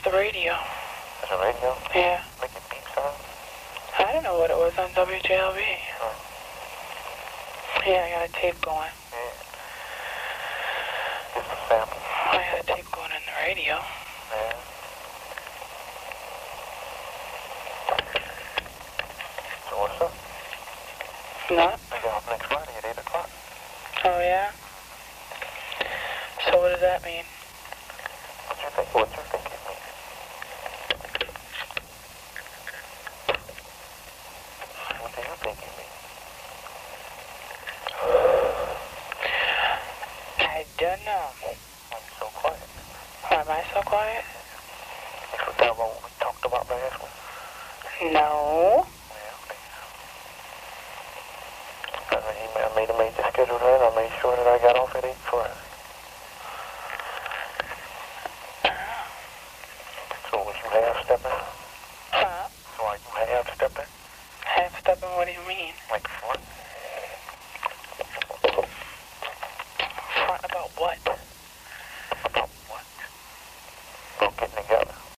the radio. There's a radio? Yeah. Making beep sound? I don't know what it was on WJLB. Oh. Yeah, I got a tape going. Yeah. Just a sample. I got a tape going in the radio. Yeah. So what's up? Not? I get off next Friday at 8 o'clock. Oh, yeah? So what does that mean? What you think it means? What do you think it means? I don't know. Why are you so quiet? Why am I so quiet? You forgot about what we talked about last week? No. I made the schedule then. I made sure that I got off at 8 Friday. So was you half-stepping? Huh? So are you half-stepping? Half-stepping, what do you mean? Like front? Front about what?